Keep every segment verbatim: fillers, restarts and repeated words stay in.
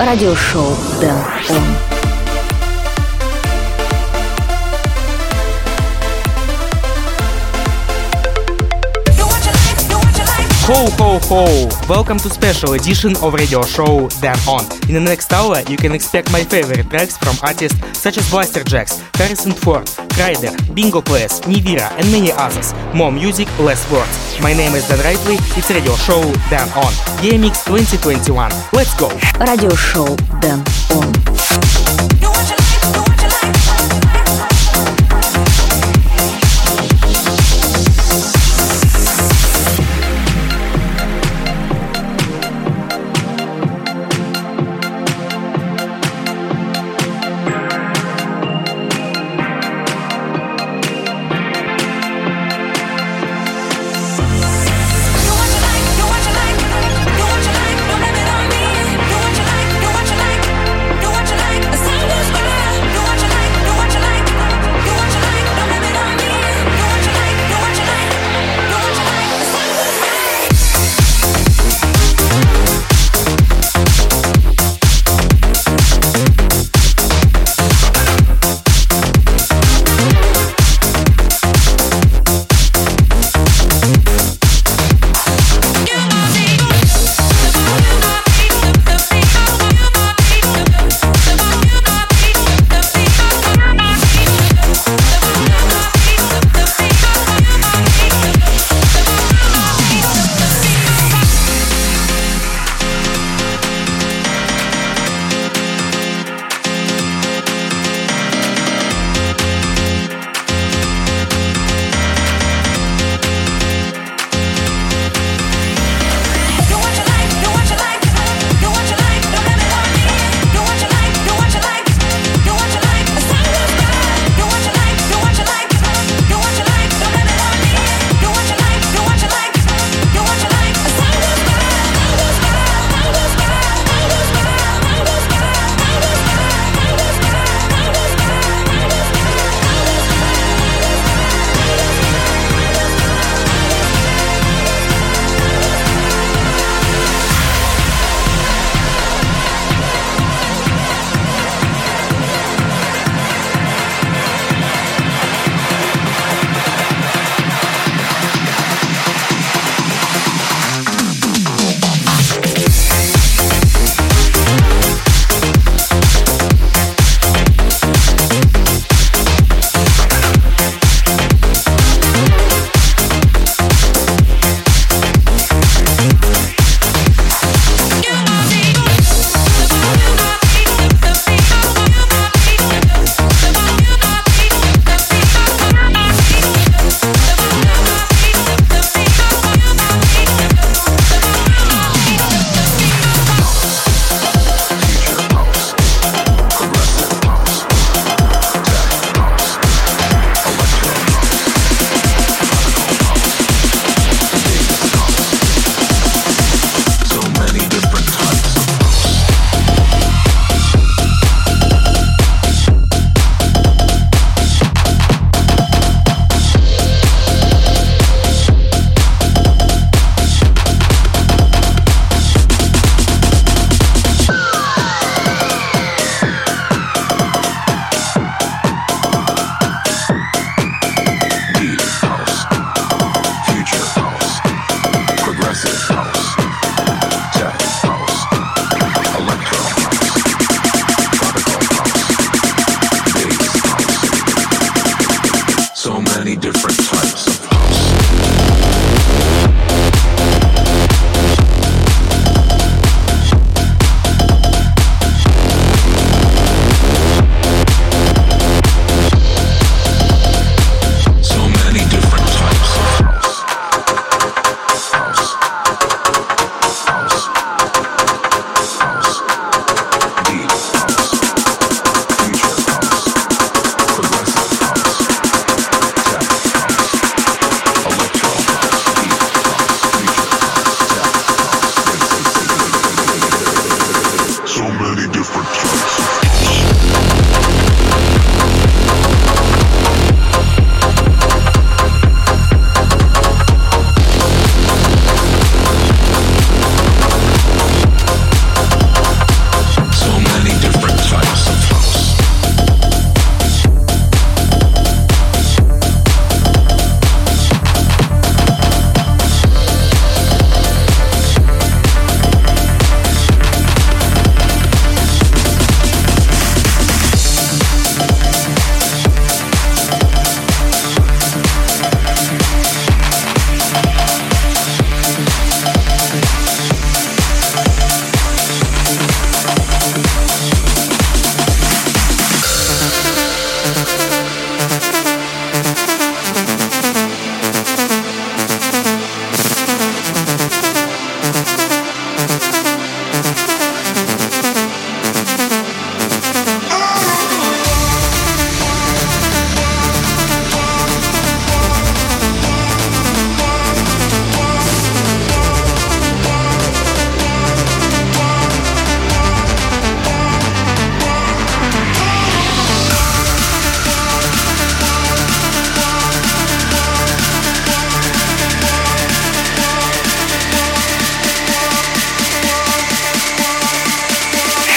радиошоу Дэн Он. Ho ho ho! Welcome to special edition of radio show Dan On. In the next hour, you can expect my favorite tracks from artists such as Blasterjaxx, Harrison Ford, Kryder, Bingo Players, Nivira, and many others. More music, less words. My name is Dan Rightly. It's radio show Dan On. G M X twenty twenty-one. Let's go! Радиошоу Dan On.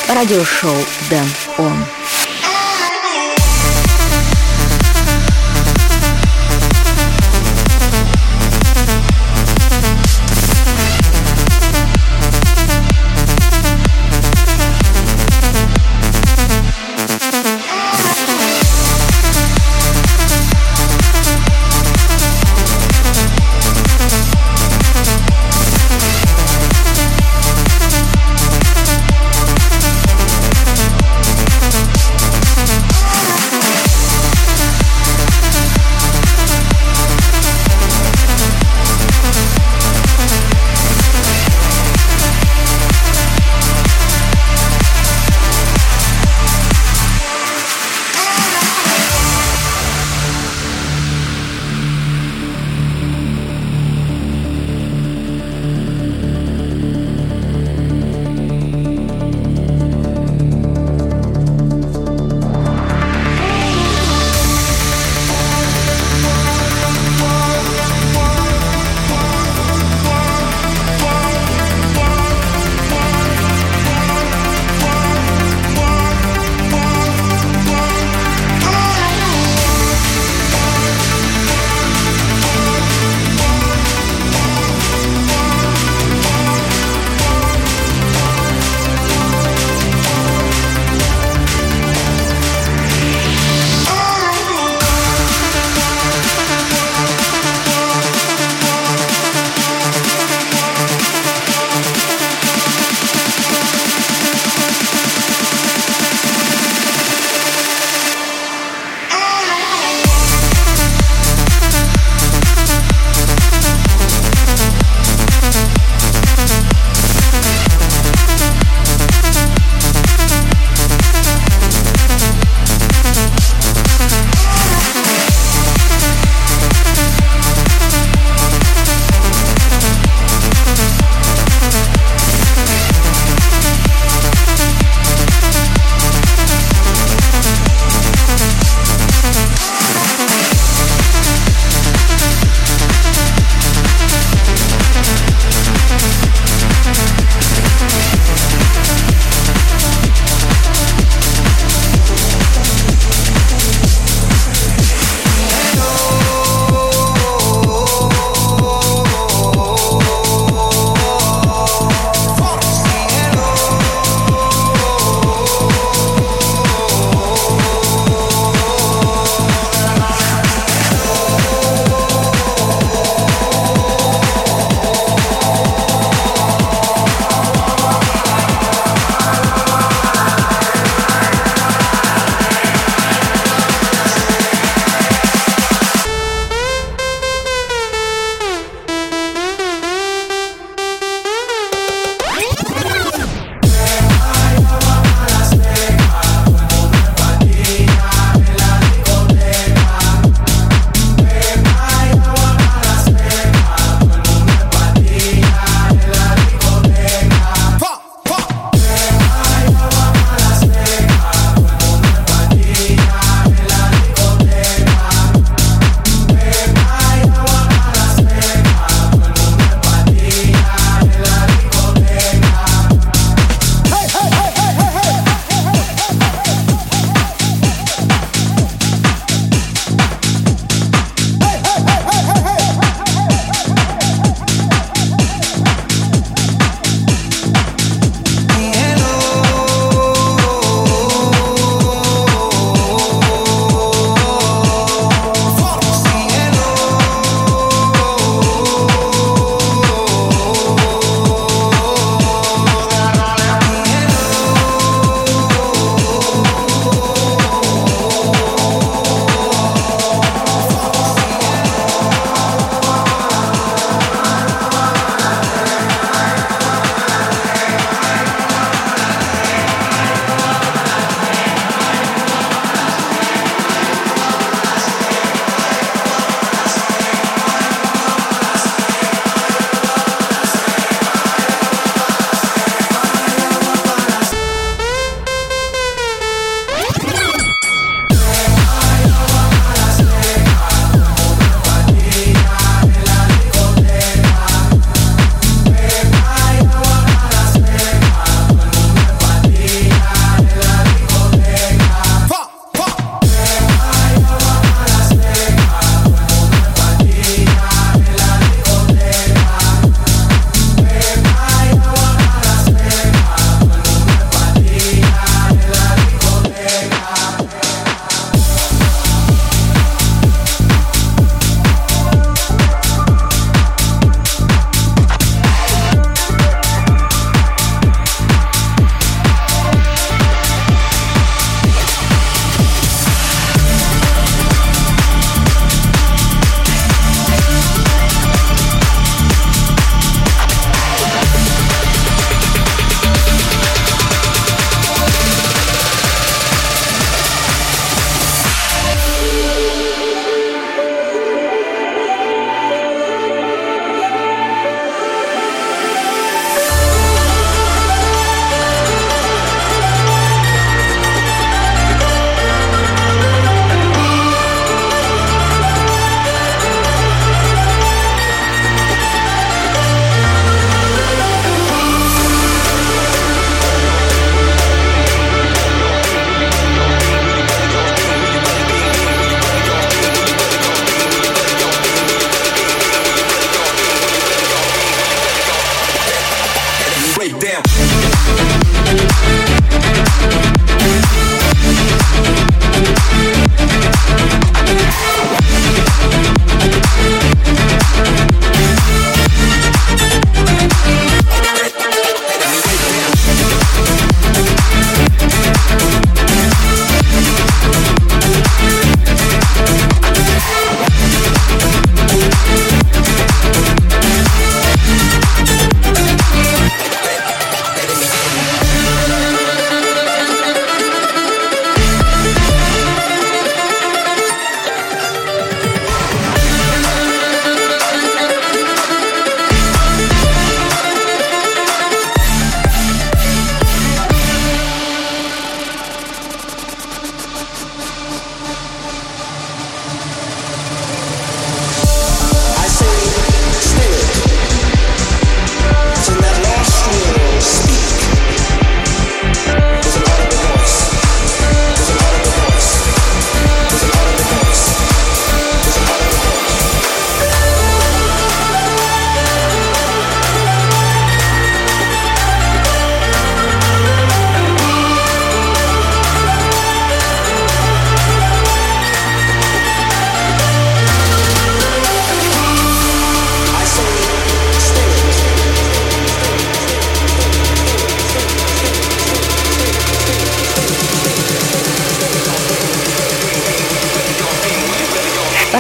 радиошоу Дэн Он.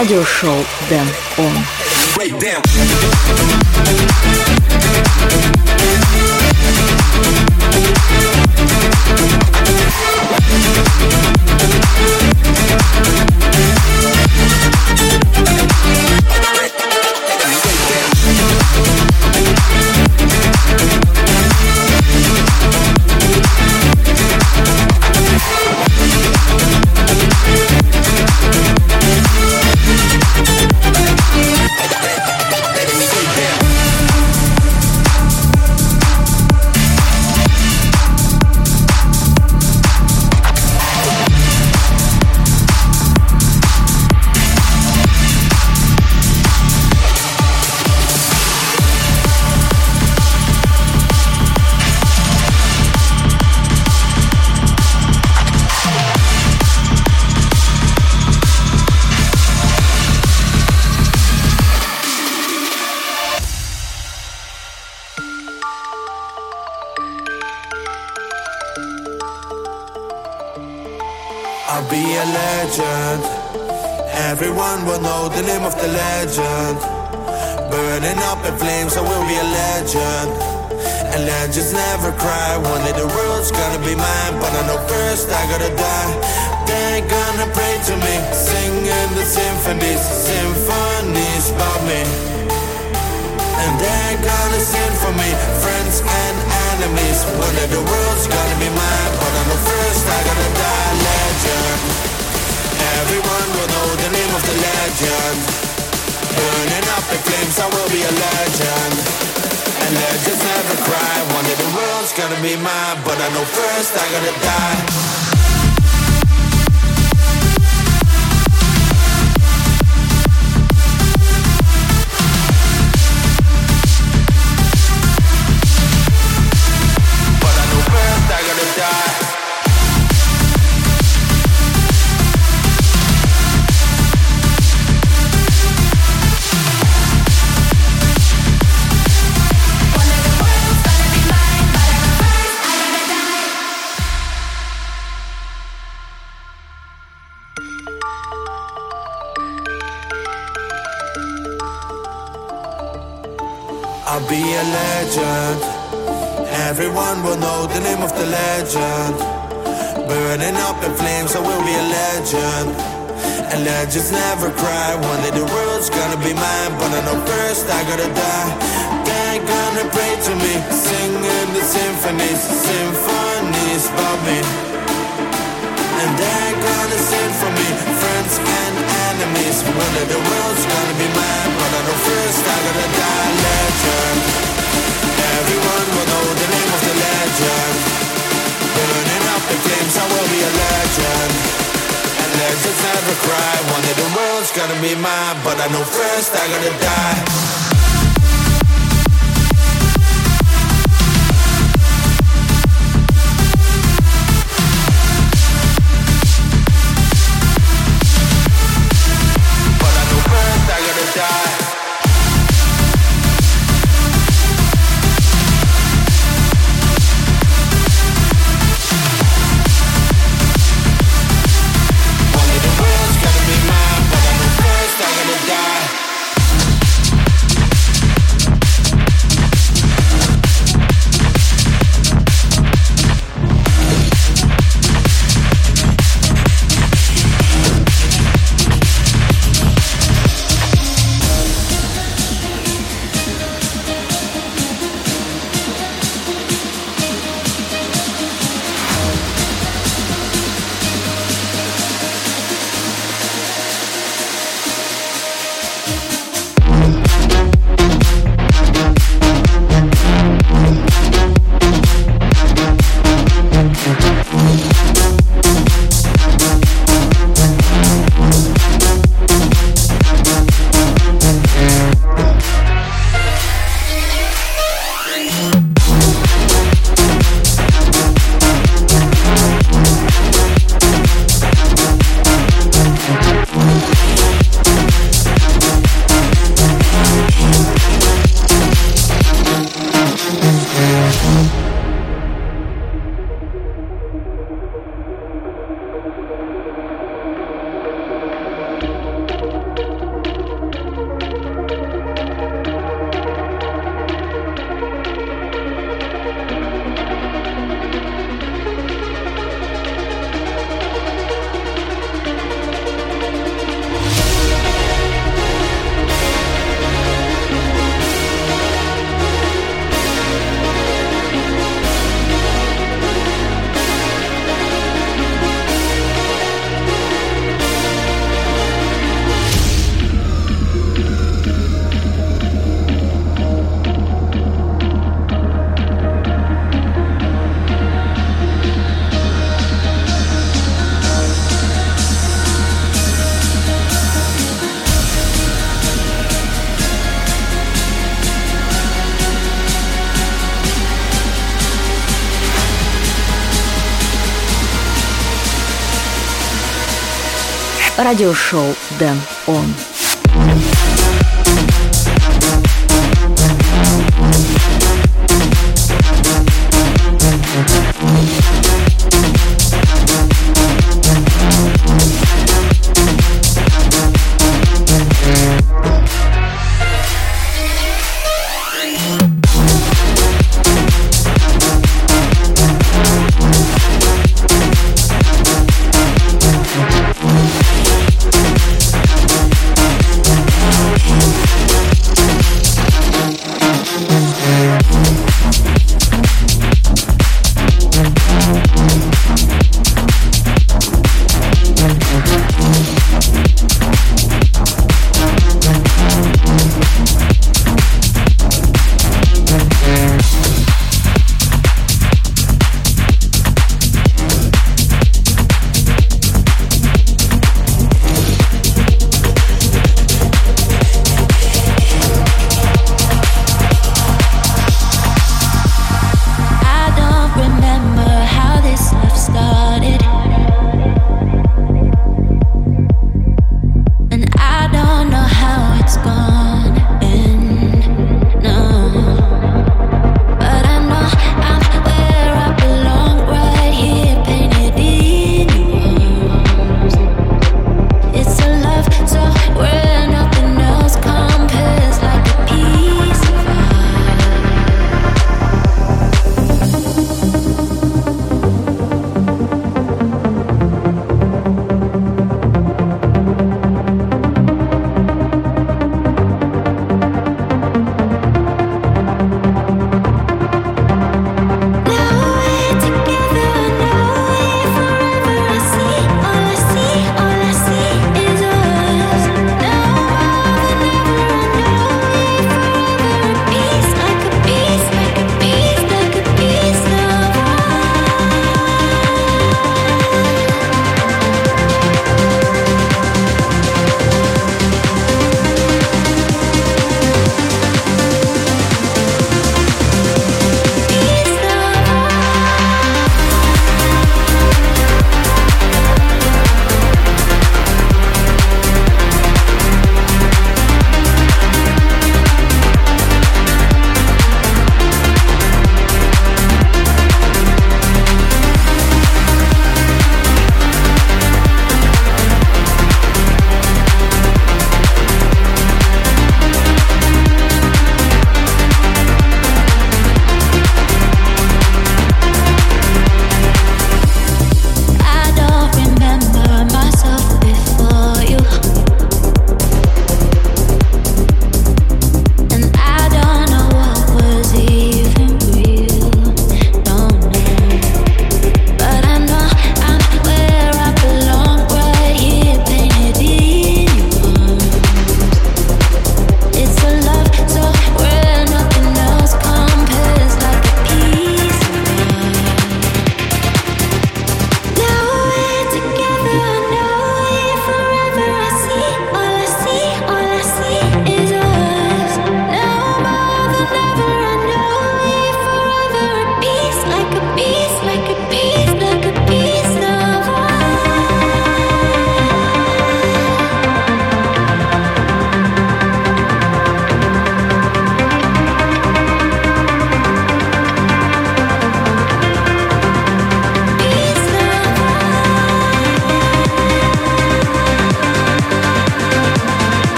радиошоу Дэн Он. I'll be a legend. Everyone will know the name of the legend. Burning up in flames, I will be a legend. And legends never cry. One day the world's gonna be mine, but I know first I gotta die. They're gonna pray to me, singing the symphonies, symphonies about me. And they're gonna sing for me, friends and enemies. One day the world's gonna be mine, but I know first I gotta die. Legend. Everyone will know the name of the legend. Burning up in flames, I will be a legend. And legends never cry. One day the world's gonna be mine, but I know first I gotta die. I'll be a legend. Everyone will know the name of the legend. Burning up in flames, I will be a legend. And legends never cry. One day the world's gonna be mine, but I know first I gotta die. They're gonna pray to me, singing the symphonies, symphonies about me. And they're gonna sing for me, friends and enemies. One day the world's gonna be mine, but I know first I gotta die. Legend. Everyone will know the name of the legend. Burning up in flames, I will be a legend. And legends never cry. One day the world's gonna be mine, but I know first I gotta die. радиошоу Дэн Он.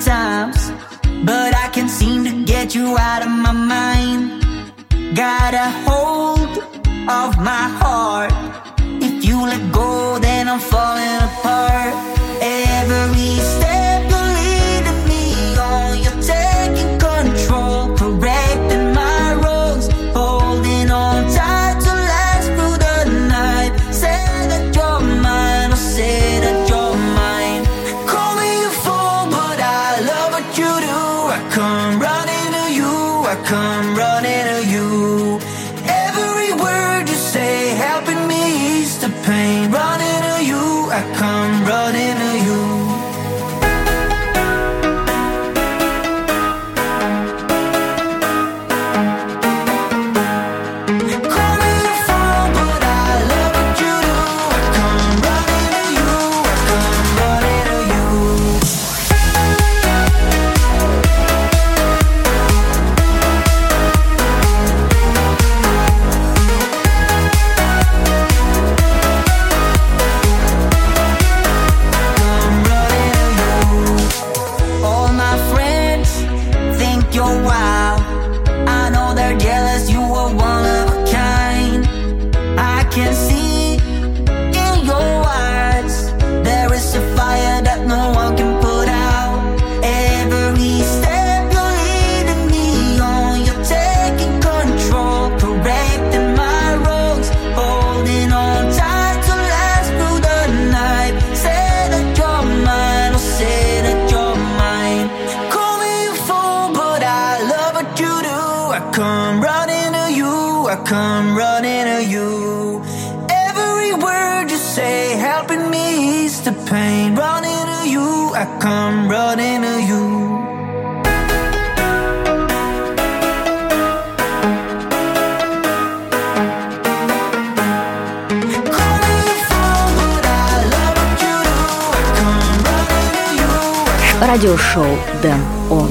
sometimes, but I can't seem to get you out of my mind. Got a hold of my heart. If you let go, then I'm falling apart. Every step you're leading me on, you're taking control, correcting my wrongs, holding on tight to last through the night. Say that you're mine, I'll say that you're mine. Call me a fool, but I love what you do. I come running to you, I come running to you. Every word you say helping me ease the pain. Running to you, I come running to you. Come running to you. Every word you say helping me ease the pain. Running to you, I come running to you. Радиошоу Дэн Он.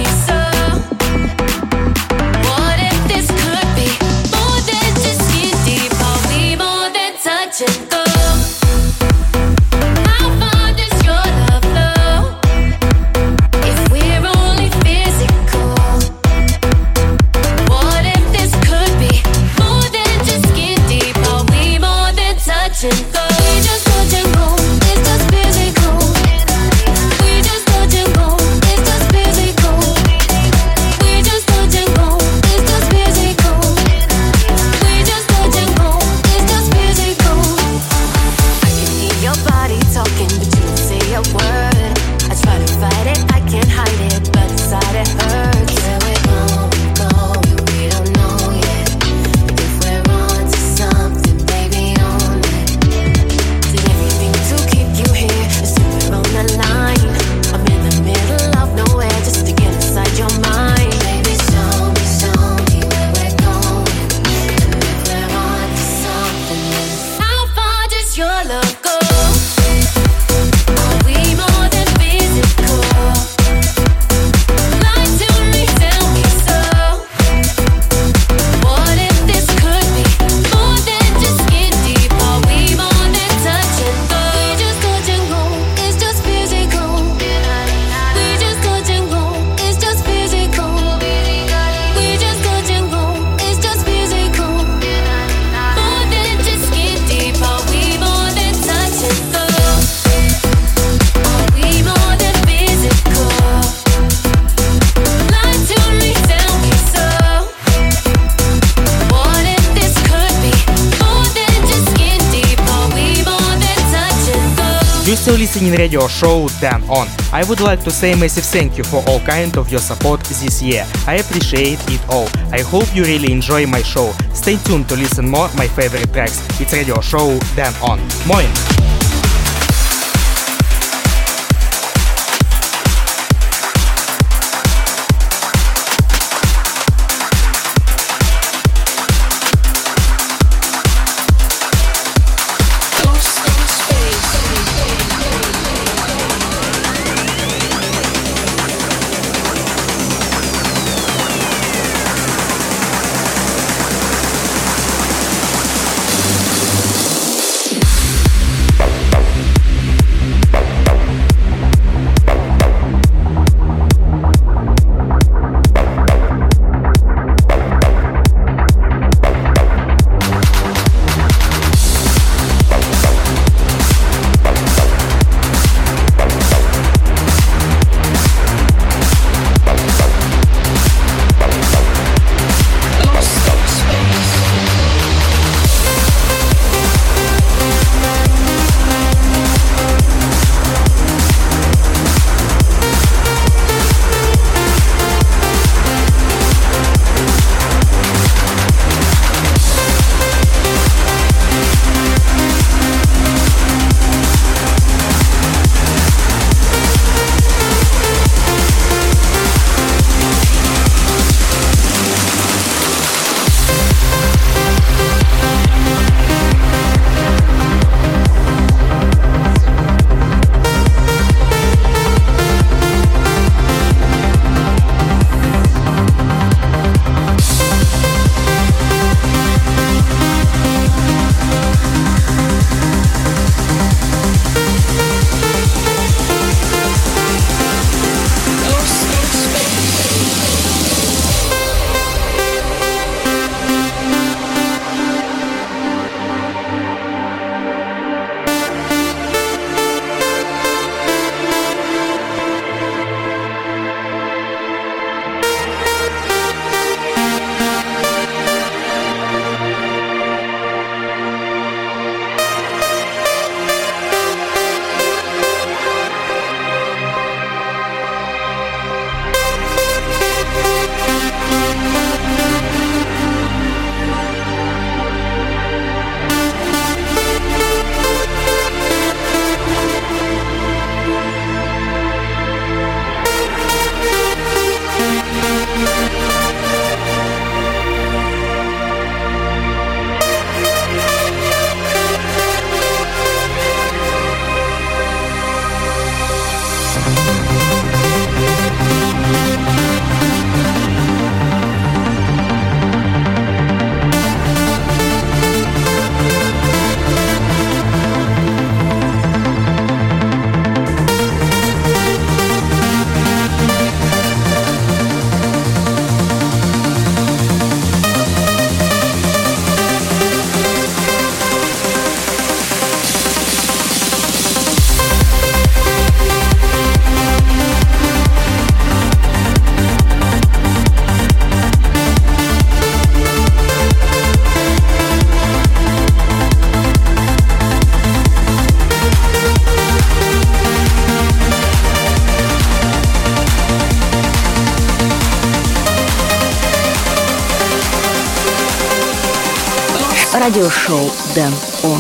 What if this could be more than just skin deep? also listening radio show Dan On. I would like to say massive thank you for all kind of your support this year. I appreciate it all. I hope you really enjoy my show. Stay tuned to listen more my favorite tracks. It's radio show Dan On. Moin! Радиошоу Dan On.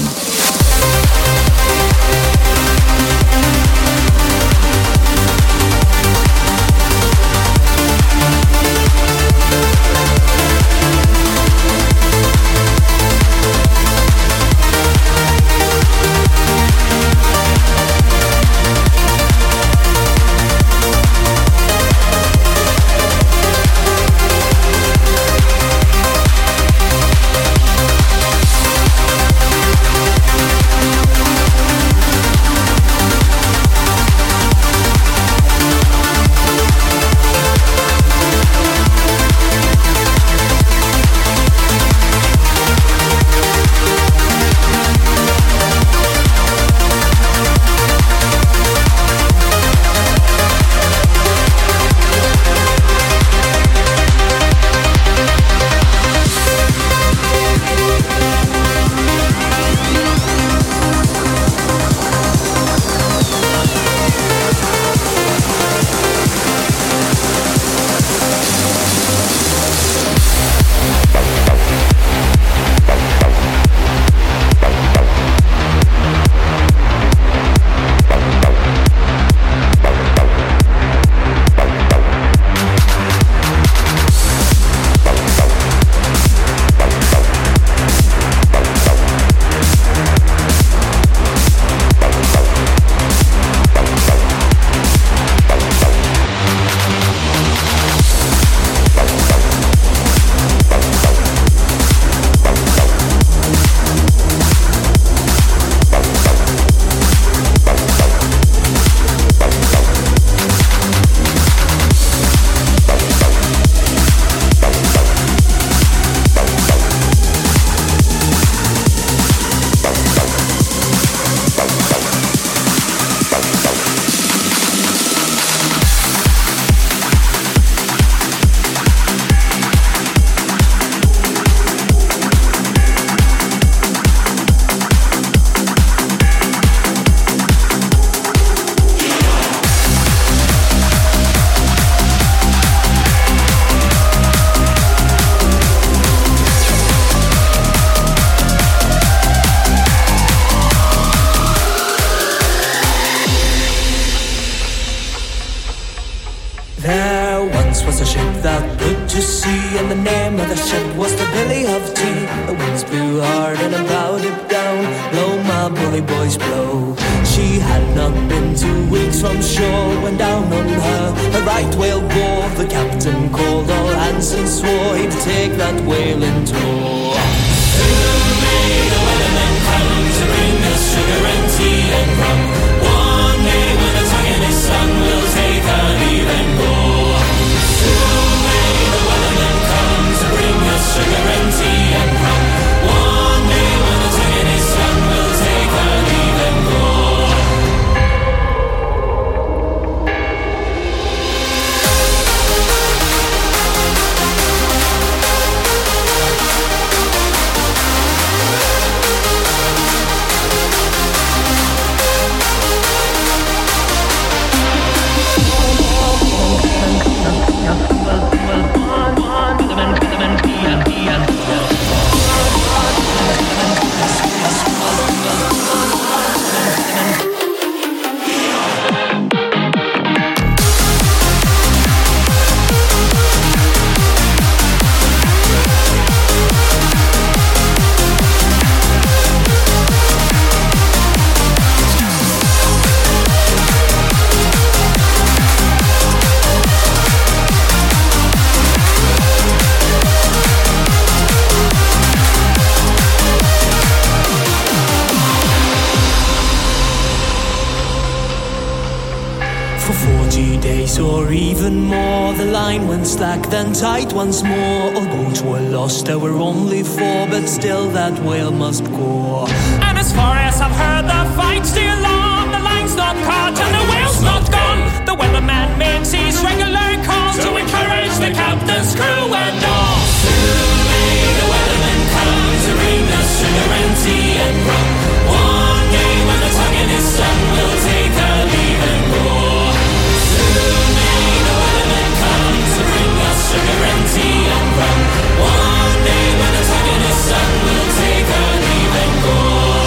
that put to sea, and the name of the ship was the Billy of Tea. The winds blew hard and I bowed it down. Blow, my bully boys, blow. She had not been two weeks from shore when down on her a right whale bore. The captain called all hands and swore he'd take that whale in tow. Soon may the weathermen come to bring us sugar and tea and rum. One day when the tongue in his sun will take our leave and go. Soon may the weathermen come to bring us sugar and tea and rum. One day when the tongue in his sun will take our leave and go. Or even more, the line went slack, then tight once more. All boats were lost, there were only four, but still that whale must go. And as far as I've heard, the fight's still on. The line's not caught and the whale's not gone. The weatherman makes his regular calls to encourage the captain's crew and all. Soon may the weatherman come to bring us sugar and tea and rum. One day when the tongue in his sun will take our leave and go. Soon may the weatherman come to bring us sugar and tea and rum. One day when the tongue in his sun will take our leave and go.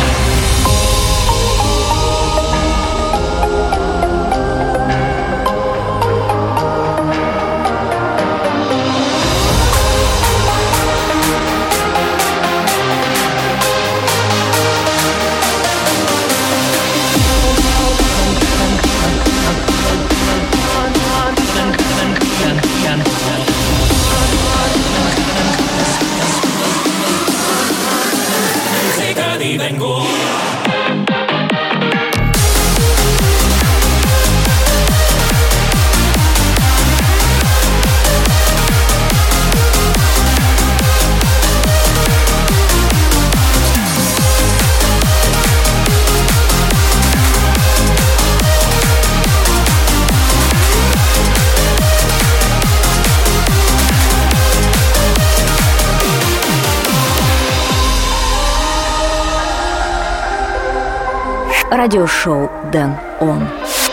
Leave and go. Радиошоу Дэн Он.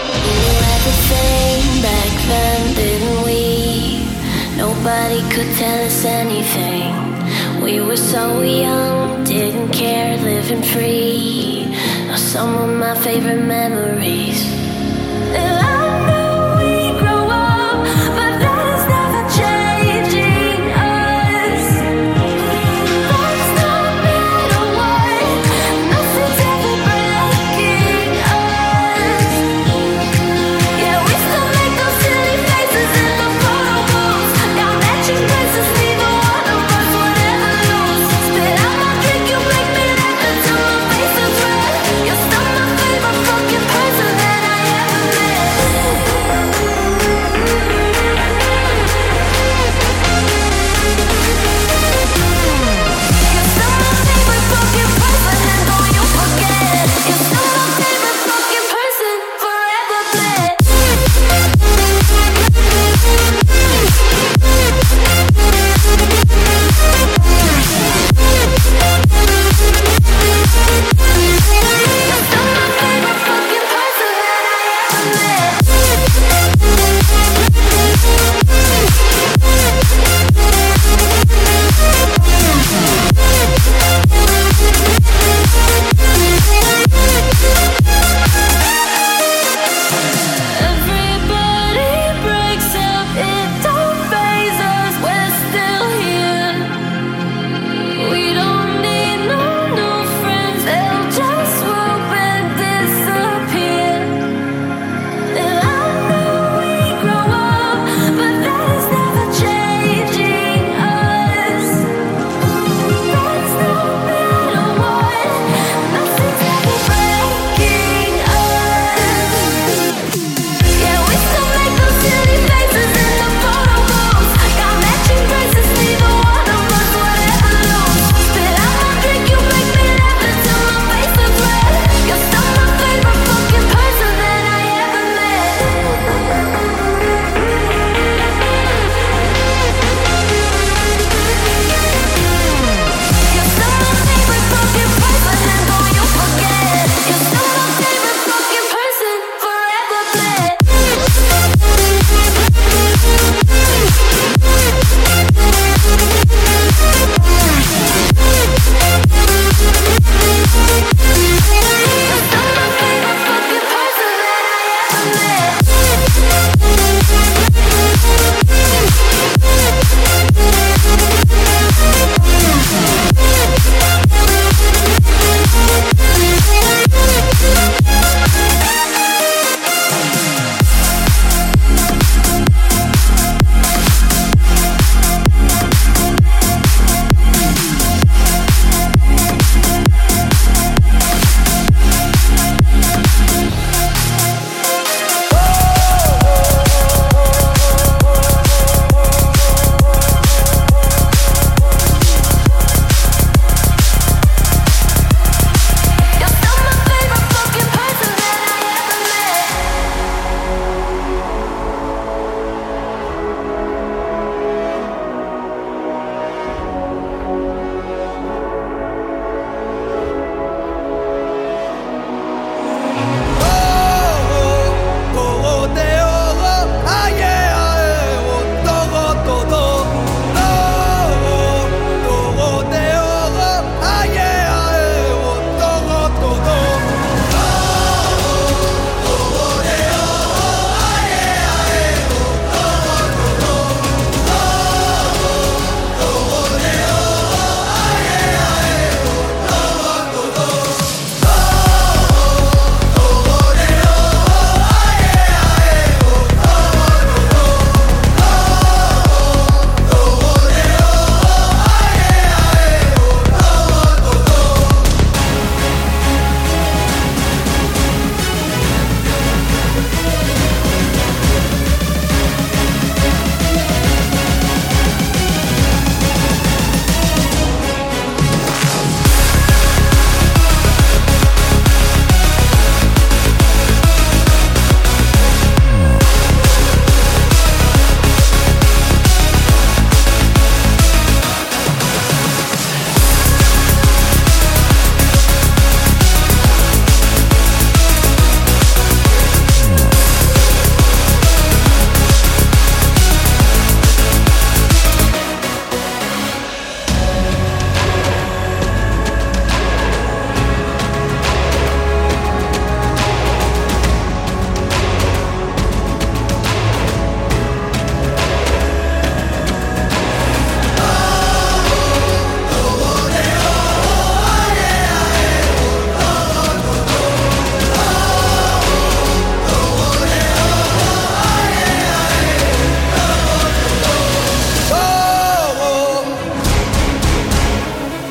Nobody could tell us anything. We were so young, didn't care, living free. Are some of my favorite memories. And I know we grow up, but that is never changing us. That's no matter what, nothing's ever breaking us. Yeah, we still make those silly faces in the photo booths. Got matching dresses, neither one of us would ever lose. Spit out my drink, you make me laugh until my face is red. You're still my favorite fucking person that I ever met.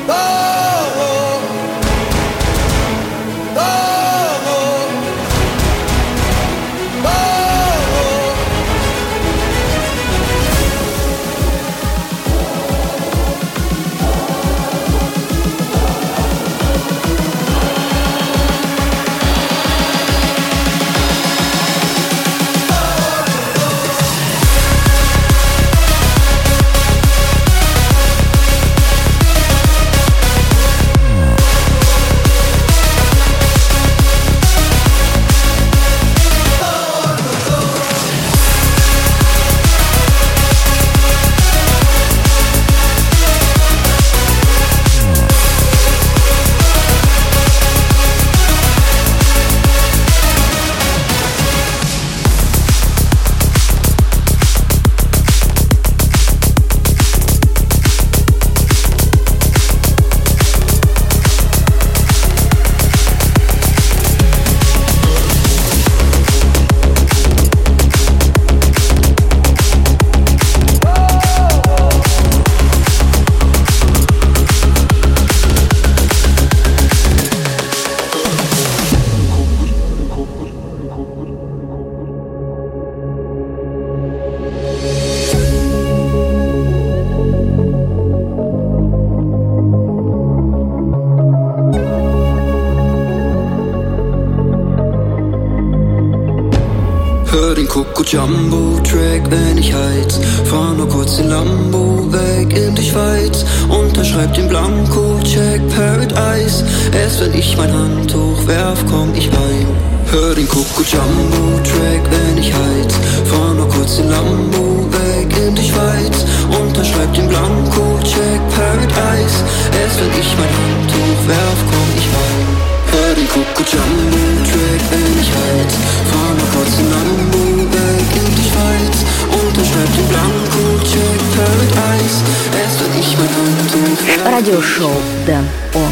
Hör den Coco Jumbo Track, wenn ich heiz. Fahr nur kurz in Lambo weg in die Schweiz. Unterschreib den Blanko-Check Paradise. Erst wenn ich mein Handtuch werf, komm ich rein. Hör den Coco Jumbo Track, wenn ich heiz. Fahr nur kurz in Lambo weg in die Schweiz. Unterschreib den Blanko-Check Paradise. Erst wenn ich mein Handtuch werf, komm ich rein. Hör den Coco Jumbo Track, wenn ich heiz. Fahr nur kurz in Lambo weg in die Schweiz. Unterschreib den Blanko-Check Paradise. Erst wenn ich mein Handtuch werf. Радиошоу Дэн Он.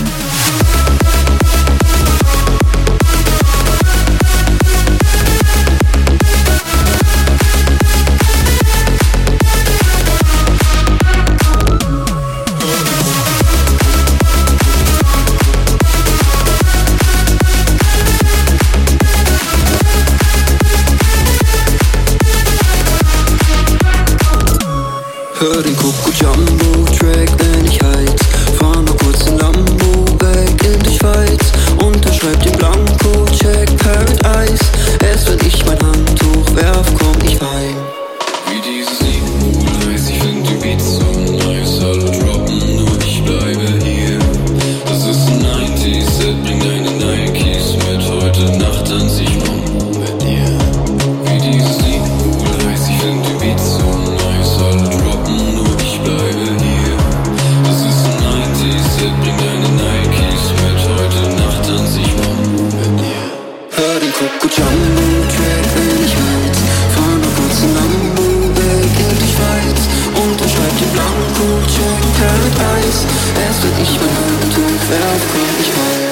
Hör den Coco Jumbo Track, wenn ich heiz. Fahr nur kurz in Lambo weg in die Schweiz. Unterschreib den Blanko-Check Paradise. Erst wenn ich mein Handtuch werf, komm ich rein. Wie dieses Lied heißt, ich find die Beats so nice. Alle droppen, nur ich bleibe hier. Das ist ein neunziger-Set, bring deine Nikes mit. Heute Nacht tanz ich rum mit dir. Wie dieses Lied heißt, ich find die Beats so nice. Alle droppen, nur ich bleibe hier. Das ist ein neunziger-Set, bring deine Nikes mit. Heute Nacht tanz ich rum mit dir. Hör den Coco Jumbo Track, wenn ich heiz. Fahr nur kurz in Lambo weg in die Schweiz. Unterschreib den Blanko-Check Paradise. Erst wenn ich mein Handtuch werf, komm ich rein.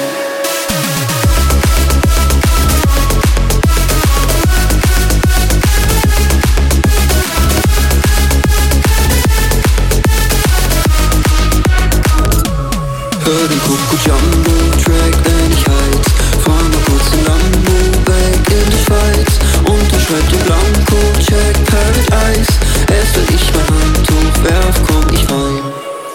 Hör den Coco Jumbo Track, wenn ich heiz. Fahr nur kurz in Lambo weg in die Schweiz. Unterschreib den Blanko-Check Paradise. Erst wenn ich mein Handtuch werf, komm ich rein.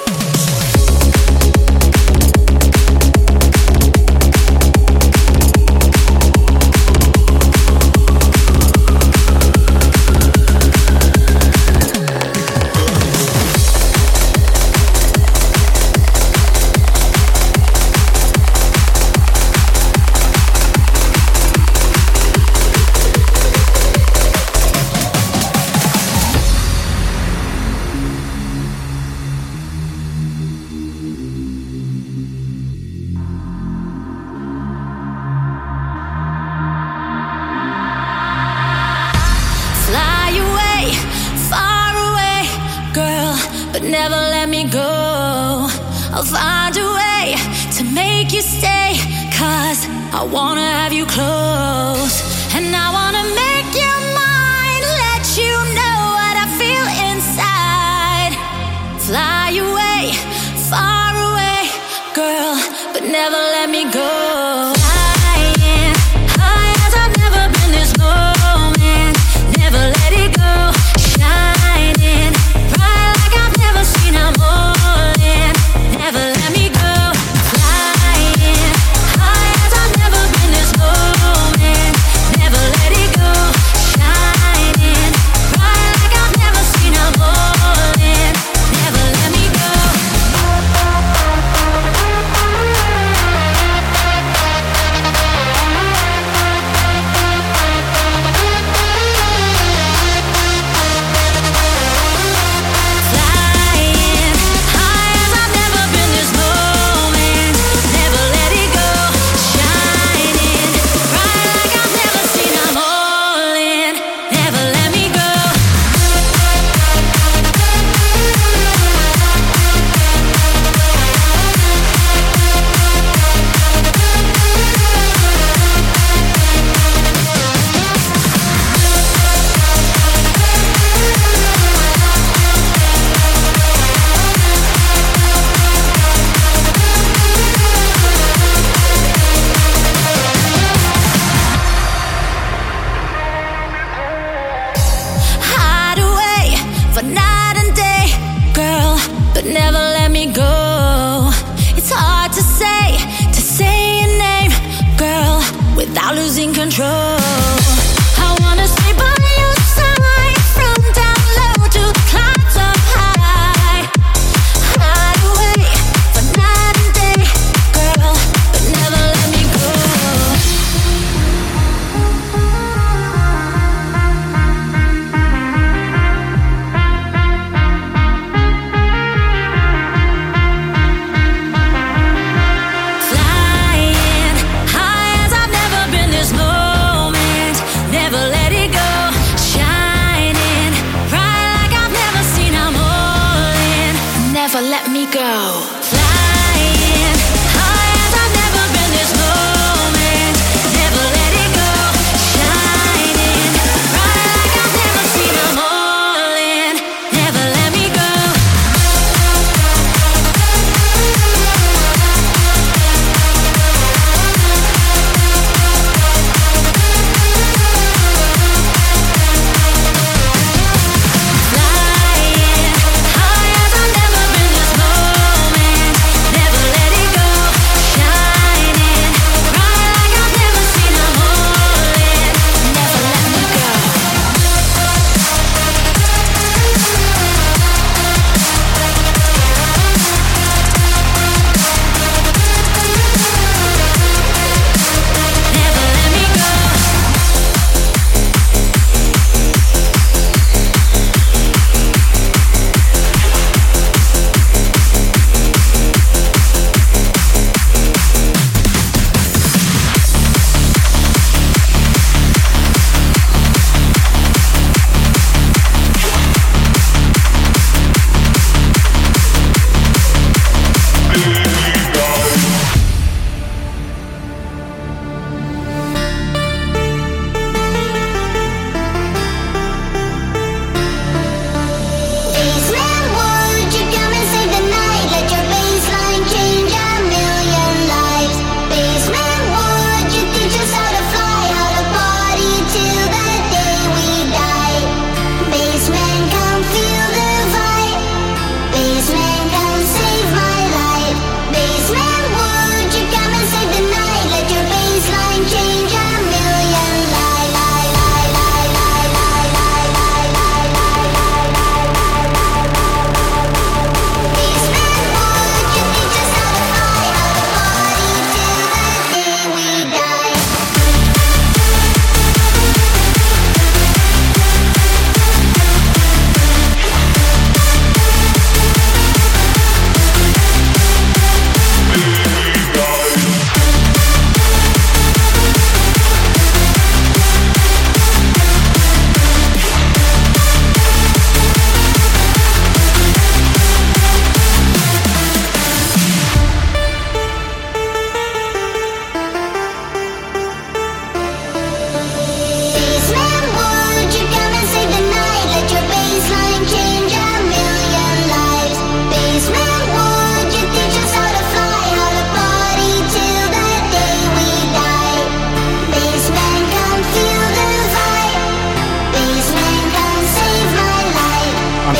Fly away, far away, girl, but never let me go. I'll find a way to make you stay, 'cause I wanna have you close. And I wanna make you mine, let you know what I feel inside. Fly away, far away, never let me go. Flying high as I've never been this low, man. Never let it go. Shining bright like I've never seen. I'm all in. Never let me go. Flying high as I've never been this low, man. Never let it go. Shining bright like I've never seen. I'm all in. Never let me go. Flying high as I've never been this low, man. Never let it go. Shining bright like I've never seen. I'm all in. Never let me go. Hide away for night and day, girl, but never let me go. It's hard to say, to say your name, girl, without losing control. I wanna stay by your side, from down low to clouds up high. Hide away for night and day, girl, but never let me go. Flying high as I've never been this low,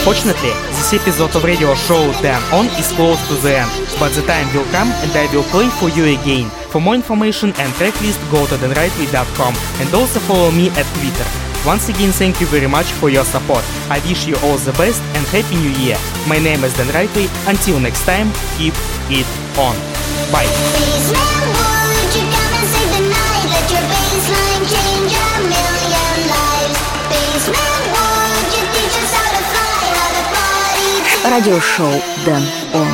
Unfortunately, this episode of radio show Dan On is close to the end, but the time will come and I will play for you again. For more information and tracklist, go to dan rightway dot com and also follow me at Twitter. Once again, thank you very much for your support. I wish you all the best and Happy New Year. My name is Dan Rightway. Until next time, keep it on. Bye. Радиошоу Дэн Он.